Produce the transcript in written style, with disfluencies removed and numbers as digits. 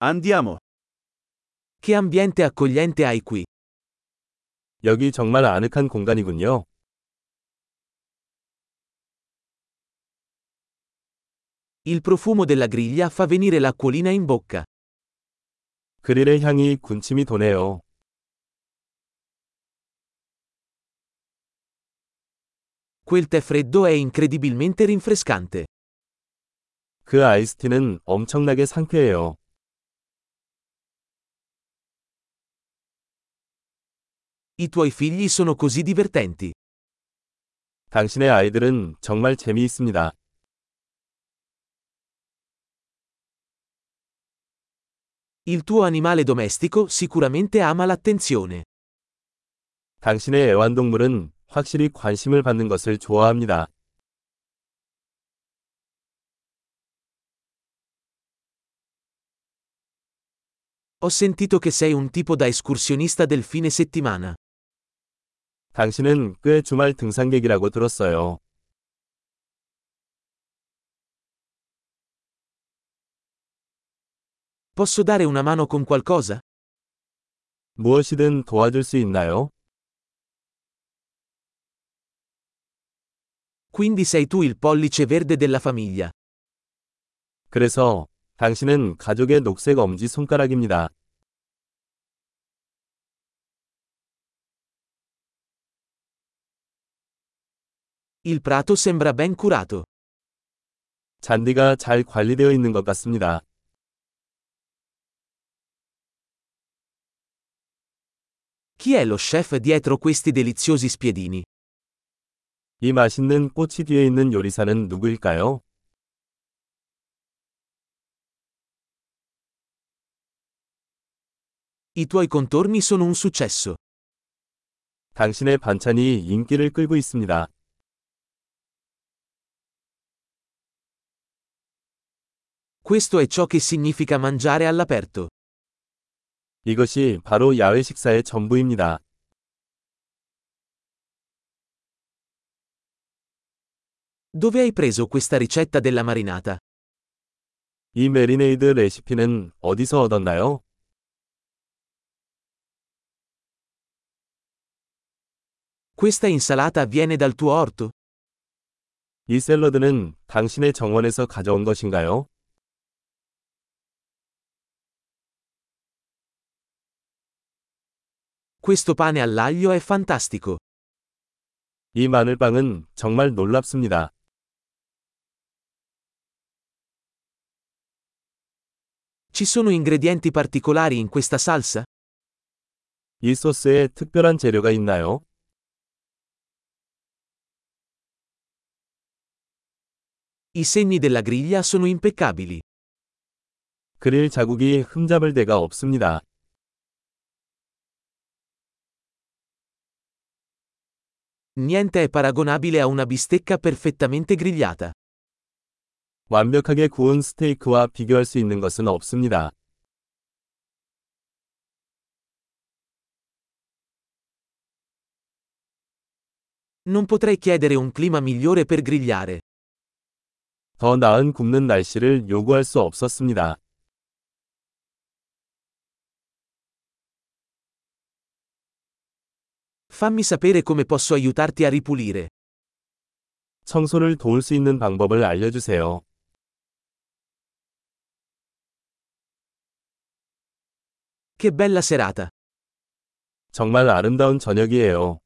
Andiamo. Che ambiente accogliente hai qui. 여기 정말 아늑한 공간이군요. Il profumo della griglia fa venire l'acquolina in bocca. 그릴의 향이 군침이 도네요. Quel tè freddo è incredibilmente rinfrescante. 그 아이스티는 엄청나게 상쾌해요. I tuoi figli sono così divertenti. 당신의 아이들은 정말 재미있습니다. Il tuo animale domestico sicuramente ama l'attenzione. 당신의 애완동물은 확실히 관심을 받는 것을 좋아합니다. Ho sentito che sei un tipo da escursionista del fine settimana. 당신은 꽤 주말 등산객이라고 들었어요. Posso dare una mano con qualcosa? 무엇이든 도와줄 수 있나요? Quindi sei tu il pollice verde della famiglia. 그래서 당신은 가족의 녹색 엄지 손가락입니다. Il prato sembra ben curato. 잔디가 잘 관리되어 있는 것 같습니다. Chi è lo chef dietro questi deliziosi spiedini? 이 맛있는 꼬치 뒤에 있는 요리사는 누구일까요? I tuoi contorni sono un successo. 당신의 반찬이 인기를 끌고 있습니다. Questo è ciò che significa mangiare all'aperto. 이것이 바로 야외 식사의 전부입니다. Dove hai preso questa ricetta della marinata? 이 메리네이드 레시피는 어디서 얻었나요? Questa insalata viene dal tuo orto? 이 샐러드는 당신의 정원에서 가져온 것인가요? Questo pane all'aglio è fantastico. 이 마늘빵은 정말 놀랍습니다. Ci sono ingredienti particolari in questa salsa? 이 소스에 특별한 재료가 있나요? I segni della griglia sono impeccabili. 그릴 자국이 흠잡을 데가 없습니다. Niente è paragonabile a una bistecca perfettamente grigliata. 완벽하게 구운 스테이크와 비교할 수 있는 것은 없습니다. Non potrei chiedere un clima migliore per grigliare. 더 나은 굽는 날씨를 요구할 수 없었습니다. Fammi sapere come posso aiutarti a ripulire. 청소를 도울 수 있는 방법을 알려주세요. Che bella serata! 정말 아름다운 저녁이에요.